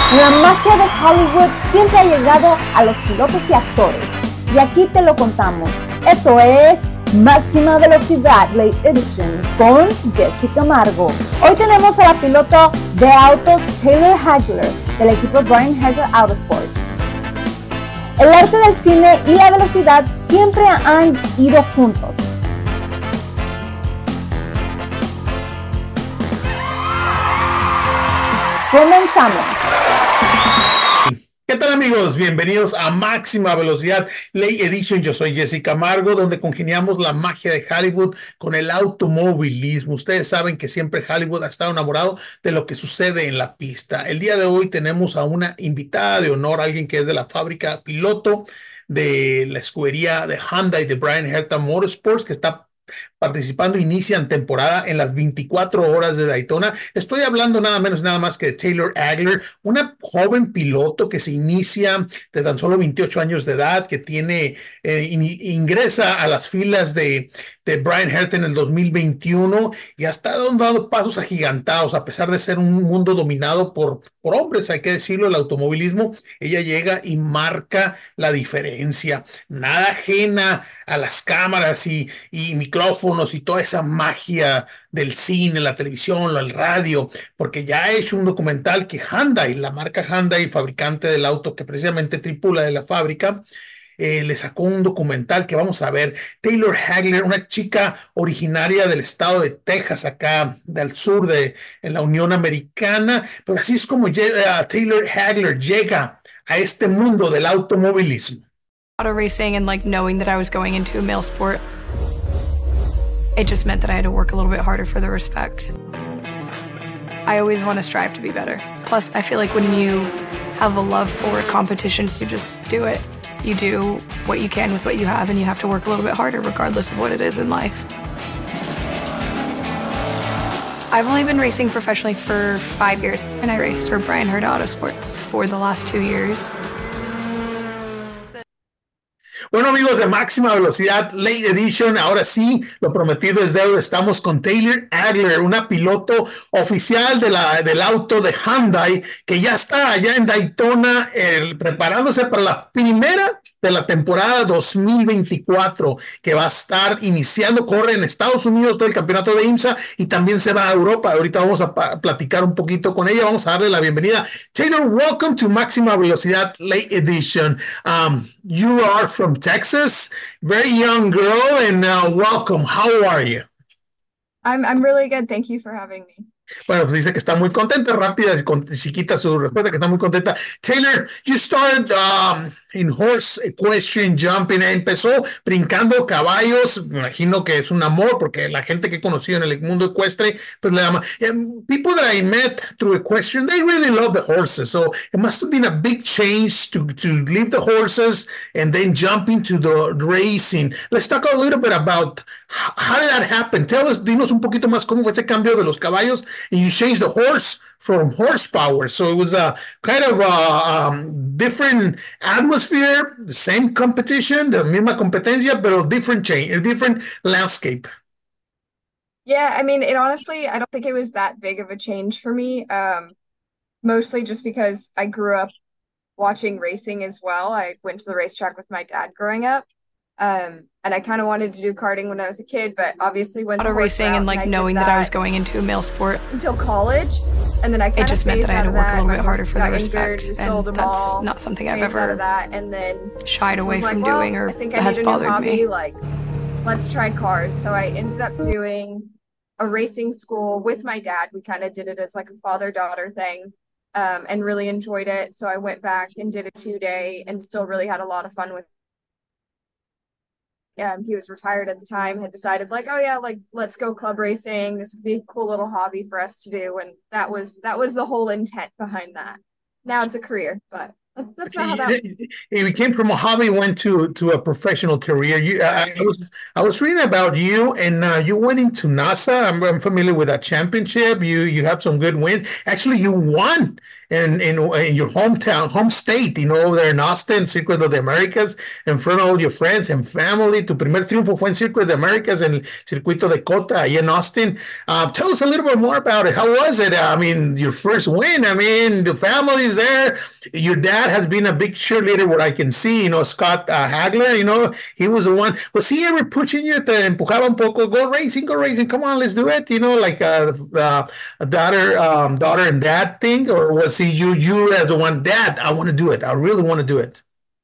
La magia de Hollywood siempre ha llegado a los pilotos y actores, y aquí te lo contamos. Esto es Máxima Velocidad Late Edition con Jessica Amargo. Hoy tenemos a la piloto de autos Taylor Hagler del equipo Brian Herta Autosport. El arte del cine y la velocidad siempre han ido juntos. Comenzamos. ¿Qué tal, amigos? Bienvenidos a Máxima Velocidad Late Edition. Yo soy Jessica Amargo, donde congeniamos la magia de Hollywood con el automovilismo. Ustedes saben que siempre Hollywood ha estado enamorado de lo que sucede en la pista. El día de hoy tenemos a una invitada de honor, alguien que es de la fábrica piloto de la escudería de Hyundai de Brian Herta Motorsports, que está participando, inician temporada en las 24 horas de Daytona. Estoy hablando nada menos, nada más que de Taylor Hagler, una joven piloto que se inicia de tan solo 28 años de edad, que tiene, ingresa a las filas de Brian Herta en el 2021 y ha estado dando pasos agigantados, a pesar de ser un mundo dominado por hombres, hay que decirlo, el automovilismo. Ella llega y marca la diferencia, nada ajena a las cámaras y micrófonos y toda esa magia del cine, la televisión, el radio, porque ya ha hecho un documental que Hyundai, la marca Hyundai, fabricante del auto que precisamente tripula de la fábrica, le sacó un documental que vamos a ver. Taylor Hagler, una chica originaria del estado de Texas, acá del sur en la Unión Americana, pero así es como Taylor Hagler llega a este mundo del automovilismo. Auto racing and like knowing that I was going into a male sport, it just meant that I had to work a little bit harder for the respect. I always want to strive to be better. Plus, I feel like when you have a love for competition, you just do it. You do what you can with what you have, and you have to work a little bit harder regardless of what it is in life. I've only been racing professionally for 5 years, and I raced for Brian Herta Autosports for the last 2 years. Bueno, amigos de Máxima Velocidad Late Edition, ahora sí, lo prometido es deuda. Estamos con Taylor Hagler, una piloto oficial del auto de Hyundai, que ya está allá en Daytona preparándose para la primera de la temporada 2024, que va a estar iniciando. Corre en Estados Unidos todo el campeonato de IMSA y también se va a Europa. Ahorita vamos a platicar un poquito con ella. Vamos a darle la bienvenida. Taylor, welcome to Máxima Velocidad Late Edition. You are from Texas, very young girl, and welcome. How are you? I'm really good. Thank you for having me. Bueno, pues dice que está muy contenta, rápida, chiquita su respuesta, que está muy contenta. Taylor, you started in horse equestrian jumping, empezó brincando caballos, me imagino que es un amor, porque la gente que he conocido en el mundo ecuestre, pues le llama. People that I met through equestrian, they really love the horses, so it must have been a big change to leave the horses and then jump into the racing. Let's talk a little bit about how did that happen. Dinos un poquito más cómo fue ese cambio de los caballos. And you changed the horse from horsepower. So it was a kind of a different atmosphere, the same competition, the misma competencia, but a different change, a different landscape. Yeah, I mean, it honestly, I don't think it was that big of a change for me. Mostly just because I grew up watching racing as well. I went to the racetrack with my dad growing up. And I kind of wanted to do karting when I was a kid, but obviously when auto racing and like knowing that I was going into a male sport until college, and then I kind it just meant that I had to work a little bit harder for the respect, and that's not something I've ever and then shied away from doing or I think I has need a new bothered hobby, me. like let's try cars. So I ended up doing a racing school with my dad. We kind of did it as like a father-daughter thing, and really enjoyed it. So I went back and did a 2-day and still really had a lot of fun with it. He was retired at the time, had decided like, oh yeah, like let's go club racing. This would be a cool little hobby for us to do. And that was the whole intent behind that. Now it's a career, but That's not how that. You came from a hobby, went to a professional career. Right. I was reading about you, and you went into NASA. I'm familiar with that championship. You have some good wins. Actually, you won in your home state. Over there in Austin, Circuit of the Americas, in front of all your friends and family. Tu primer triunfo fue en Circuit of the Americas en el Circuito de Cota, ahí in Austin. Tell us a little bit more about it. How was it? I mean, your first win. I mean, the family's there. Your dad has been a big cheerleader, what I can see, Scott Hagler, he was the one. Was he ever pushing you, te empujaba un poco, go racing, come on, let's do it, like a daughter and dad thing, or was he you as the one, dad, I want to do it, I really want to do it?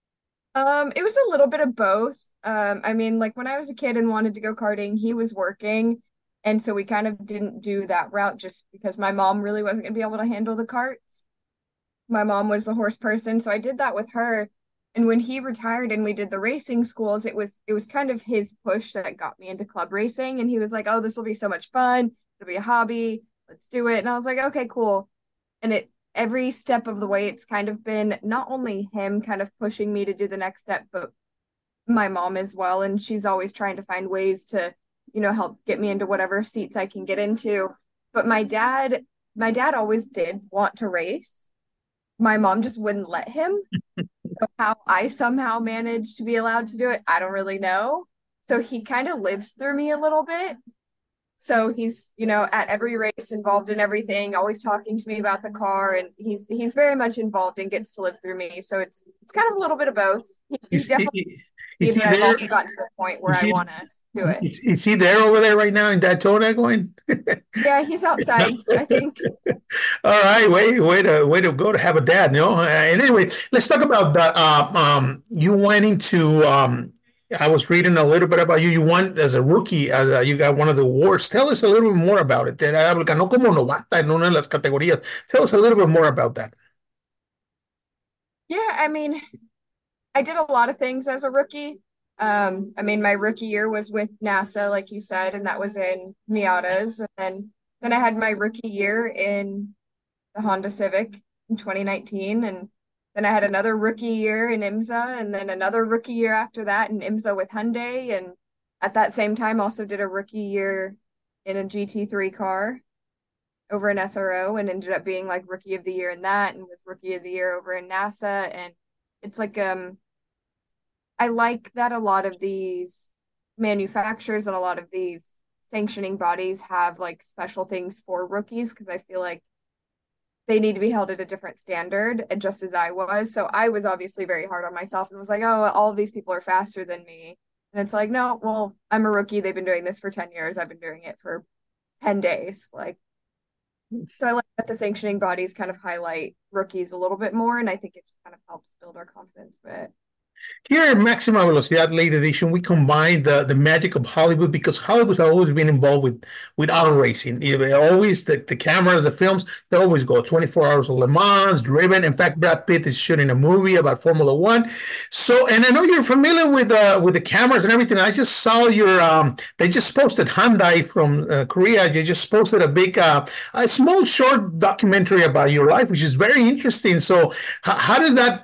It was a little bit of both. I mean, like when I was a kid and wanted to go karting, he was working. And so we kind of didn't do that route just because my mom really wasn't going to be able to handle the carts. My mom was the horse person, so I did that with her. And when he retired and we did the racing schools, it was kind of his push that got me into club racing. And he was like, "Oh, this will be so much fun. It'll be a hobby. Let's do it." And I was like, "Okay, cool." And it every step of the way, it's kind of been not only him kind of pushing me to do the next step, but my mom as well. And she's always trying to find ways to, help get me into whatever seats I can get into. But my dad always did want to race. My mom just wouldn't let him. So how I somehow managed to be allowed to do it, I don't really know. So he kind of lives through me a little bit. So he's, at every race involved in everything, always talking to me about the car, and he's very much involved and gets to live through me. So it's kind of a little bit of both. He's definitely, Is he but I've there? also gotten to the point where Is I he, want to do it. is he there over there right now in Daytona going? Yeah, he's outside, I think. All right, way to go to have a dad, And anyway, let's talk about that. You went into. I was reading a little bit about you. You won as a rookie. You got one of the awards. Tell us a little bit more about it. Ganó como novata en una de las categorías. Tell us a little bit more about that. Yeah, I mean, I did a lot of things as a rookie. I mean, my rookie year was with NASA, like you said, and that was in Miatas. And then I had my rookie year in the Honda Civic in 2019. And then I had another rookie year in IMSA, and then another rookie year after that in IMSA with Hyundai. And at that same time, also did a rookie year in a GT3 car over in SRO, and ended up being like rookie of the year in that, and was rookie of the year over in NASA. And it's like I like that a lot of these manufacturers and a lot of these sanctioning bodies have like special things for rookies, because I feel like they need to be held at a different standard, and just as I was. So I was obviously very hard on myself and was like, "Oh, all of these people are faster than me." And it's like, no, well, I'm a rookie. They've been doing this for 10 years. I've been doing it for 10 days. Like, so I like that the sanctioning bodies kind of highlight rookies a little bit more, and I think it just kind of helps build our confidence a bit. Here at Maxima Velocidad Late Edition, we combine the magic of Hollywood, because Hollywood has always been involved with auto racing. Always the cameras, the films, they always go 24 hours of Le Mans, driven. In fact, Brad Pitt is shooting a movie about Formula One. So, and I know you're familiar with the cameras and everything. I just saw they just posted Hyundai from Korea. They just posted a small short documentary about your life, which is very interesting. So, how did that?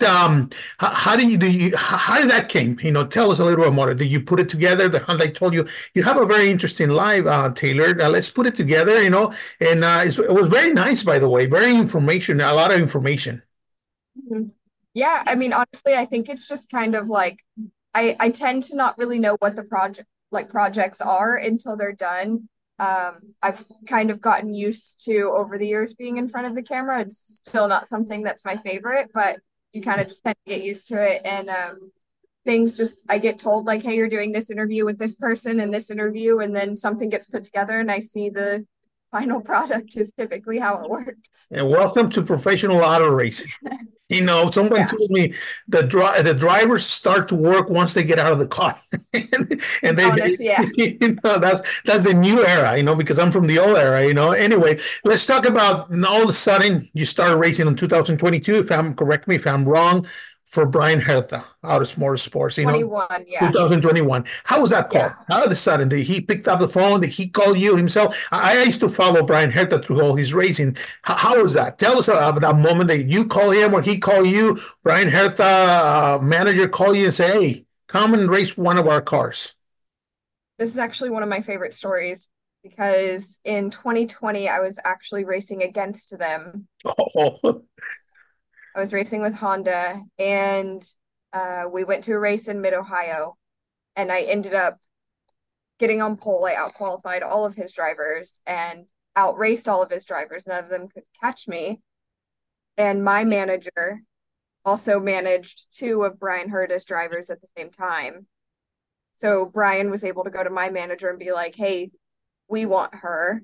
How did that came? Tell us a little bit more. Did you put it together? I told you have a very interesting live, Taylor. Let's put it together. And it was very nice, by the way. Very information, a lot of information. Mm-hmm. Yeah, I mean, honestly, I think it's just kind of like I tend to not really know what the projects are until they're done. I've kind of gotten used to over the years being in front of the camera. It's still not something that's my favorite, but you kind of just tend to get used to it. And I get told like, "Hey, you're doing this interview with this person and this interview," and then something gets put together and I see the final product is typically how it works. And welcome to professional auto racing. Someone told me the drivers start to work once they get out of the car, and that's the new era, because I'm from the old era, Anyway, let's talk about all of a sudden you started racing in 2022. Correct me if I'm wrong. for Brian Hertha out of Motorsports, 21, yeah. 2021. How was that call? Yeah. All of a sudden, did he pick up the phone? Did he call you himself? I used to follow Brian Hertha through all his racing. How was that? Tell us about that moment that you call him or he call you, Brian Hertha, manager call you and say, hey, come and race one of our cars. This is actually one of my favorite stories because in 2020, I was actually racing against them. Oh. I was racing with Honda, and we went to a race in Mid-Ohio, and I ended up getting on pole. I out-qualified all of his drivers and outraced all of his drivers. None of them could catch me. And my manager also managed two of Brian Herta's drivers at the same time. So Brian was able to go to my manager and be like, hey, we want her.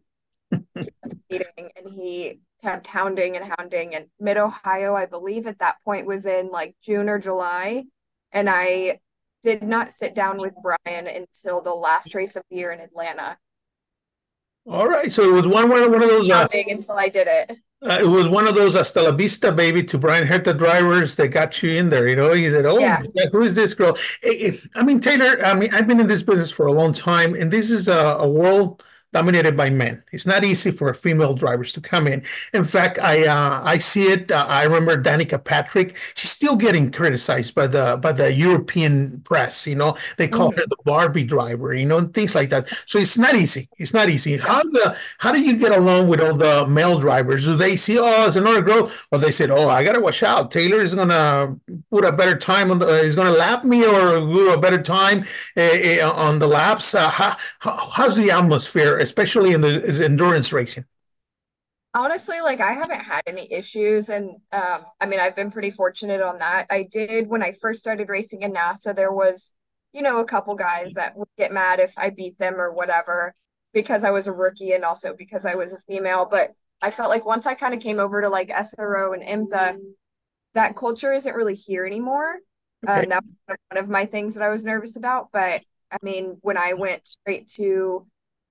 And he kept hounding and hounding. And Mid-Ohio, I believe at that point was in like June or July. And I did not sit down with Brian until the last race of the year in Atlanta. All right. So it was one of those. Hounding until I did it. It was one of those hasta la vista, baby, to Brian Herta drivers that got you in there. He said, oh, yeah, who is this girl? Taylor, I've been in this business for a long time, and this is a world dominated by men. It's not easy for female drivers to come in. In fact, I see it. I remember Danica Patrick. She's still getting criticized by the European press. They call her the Barbie driver. And things like that. So it's not easy. It's not easy. How do you get along with all the male drivers? Do they see, oh, it's another girl, or they said, oh, I gotta watch out. Taylor is gonna put a better time on is gonna lap me or do a better time on the laps? How's the atmosphere, especially in the endurance racing? Honestly, like I haven't had any issues, and I've been pretty fortunate on that. I did when I first started racing in NASA, there was, a couple guys that would get mad if I beat them or whatever because I was a rookie and also because I was a female. But I felt like once I kind of came over to like SRO and IMSA, that culture isn't really here anymore. Okay. That was one of my things that I was nervous about. But when I went straight to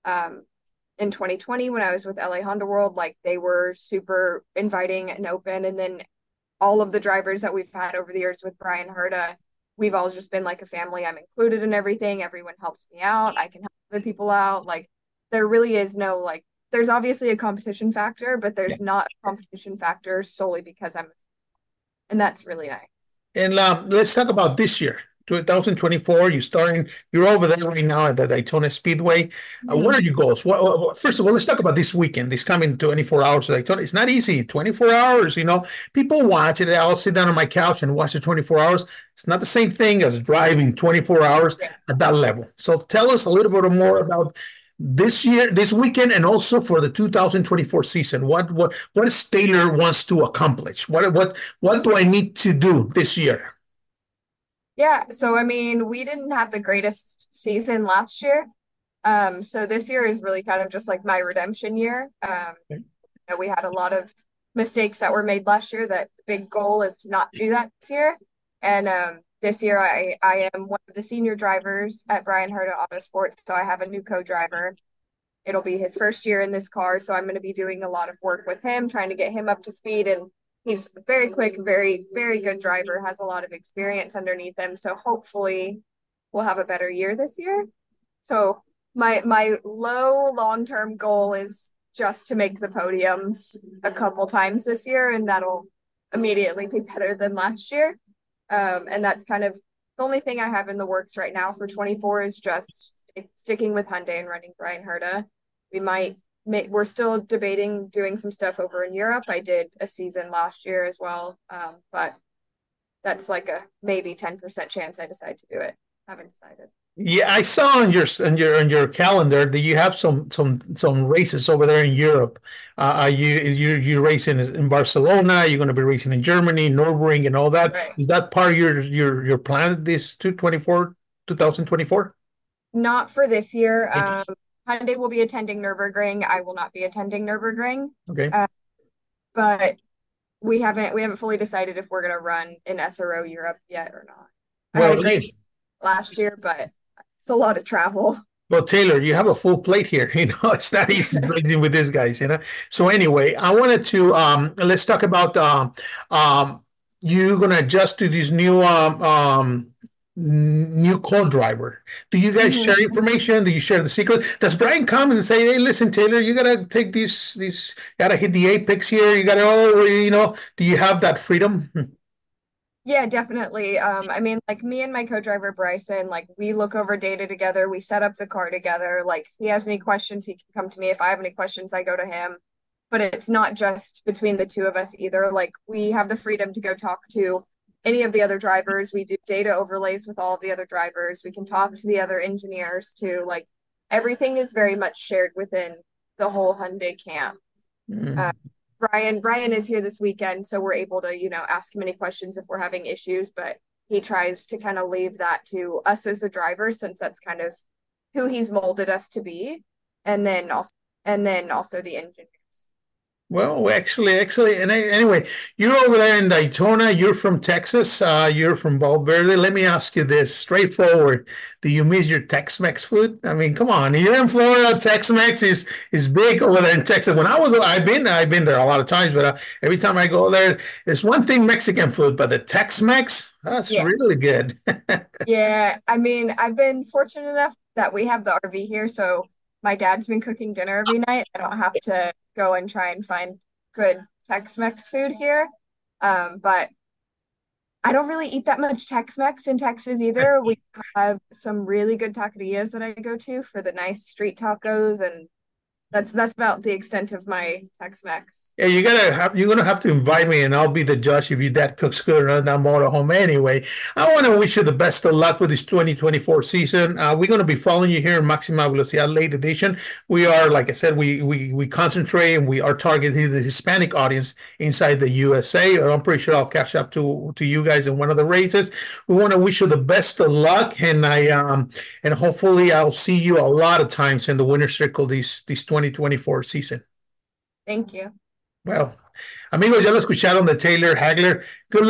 in 2020, when I was with LA Honda World, like they were super inviting and open. And then all of the drivers that we've had over the years with Brian Herta, we've all just been like a family. I'm included in everything. Everyone helps me out. I can help other people out. Like there really is no, like, there's obviously a competition factor, but there's not a competition factor solely because and that's really nice. And let's talk about this year. 2024, you're over there right now at the Daytona Speedway. What are your goals? First of all, let's talk about this weekend, this coming 24 hours of Daytona. It's not easy, 24 hours, people watch it. I'll sit down on my couch and watch the 24 hours. It's not the same thing as driving 24 hours at that level. So tell us a little bit more about this year, this weekend, and also for the 2024 season. What is Taylor wants to accomplish? What do I need to do this year? Yeah, so we didn't have the greatest season last year. So this year is really kind of just like my redemption year. We had a lot of mistakes that were made last year. That the big goal is to not do that this year. And this year I am one of the senior drivers at Brian Herta Autosports, so I have a new co-driver. It'll be his first year in this car, so I'm going to be doing a lot of work with him, trying to get him up to speed. And he's very quick, very, very good driver, has a lot of experience underneath him. So hopefully we'll have a better year this year. So my low long-term goal is just to make the podiums a couple times this year, and that'll immediately be better than last year. And that's kind of the only thing I have in the works right now for 24 is just sticking with Hyundai and running Brian Herta. We're still debating doing some stuff over in Europe. I did a season last year as well, but that's like a maybe 10% chance I decide to do it. Haven't decided. Yeah, I saw on your calendar that you have some races over there in Europe. You racing in Barcelona. You're going to be racing in Germany, Nürburgring, and all that. Right. Is that part of your plan this 2024? Not for this year. Hyundai will be attending Nürburgring. I will not be attending Nürburgring. Okay. But we haven't fully decided if we're going to run in SRO Europe yet or not. I had a great last year, but it's a lot of travel. Well, Taylor, you have a full plate here. It's not easy racing with these guys. So anyway, I wanted to let's talk about you're gonna adjust to this new co-driver. Do you guys Mhm. share information? Do you share the secret? Does Brian come and say, "Hey, listen, Taylor, you gotta take these, gotta hit the apex here. You gotta, do you have that freedom?" Yeah, definitely. I mean, like me and my co-driver Bryson, like we look over data together, we set up the car together. Like he has any questions, he can come to me. If I have any questions, I go to him. But it's not just between the two of us either. Like we have the freedom to go talk to any of the other drivers. We do data overlays with all of the other drivers. We can talk to the other engineers too. Like everything is very much shared within the whole Hyundai camp. Uh, Brian is here this weekend, so we're able to, ask him any questions if we're having issues, but he tries to kind of leave that to us as the drivers since that's kind of who he's molded us to be. And then also the engineers. Well, actually, and anyway, you're over there in Daytona. You're from Texas. You're from Valverde. Let me ask you this straightforward: do you miss your Tex-Mex food? I mean, come on. You're in Florida. Tex-Mex is big over there in Texas. I've been there a lot of times, but every time I go there, it's one thing Mexican food, but the Tex-Mex, that's Yeah. really good. Yeah. I mean, I've been fortunate enough that we have the RV here, so my dad's been cooking dinner every night. I don't have to go and try and find good Tex-Mex food here. But I don't really eat that much Tex-Mex in Texas either. We have some really good taquerias that I go to for the nice street tacos, and that's about the extent of my Tex-Mex. Yeah, you're gonna have to invite me, and I'll be the judge if your dad cooks good around that motorhome. Anyway, I want to wish you the best of luck for this 2024 season. We're gonna be following you here in Maxima Velocidad Late Edition. We are, like I said, we concentrate and we are targeting the Hispanic audience inside the USA. I'm pretty sure I'll catch up to you guys in one of the races. We want to wish you the best of luck, and hopefully I'll see you a lot of times in the winner's circle this 2024 season. Thank you. Well, amigos, ya lo escucharon de Taylor Hagler. Good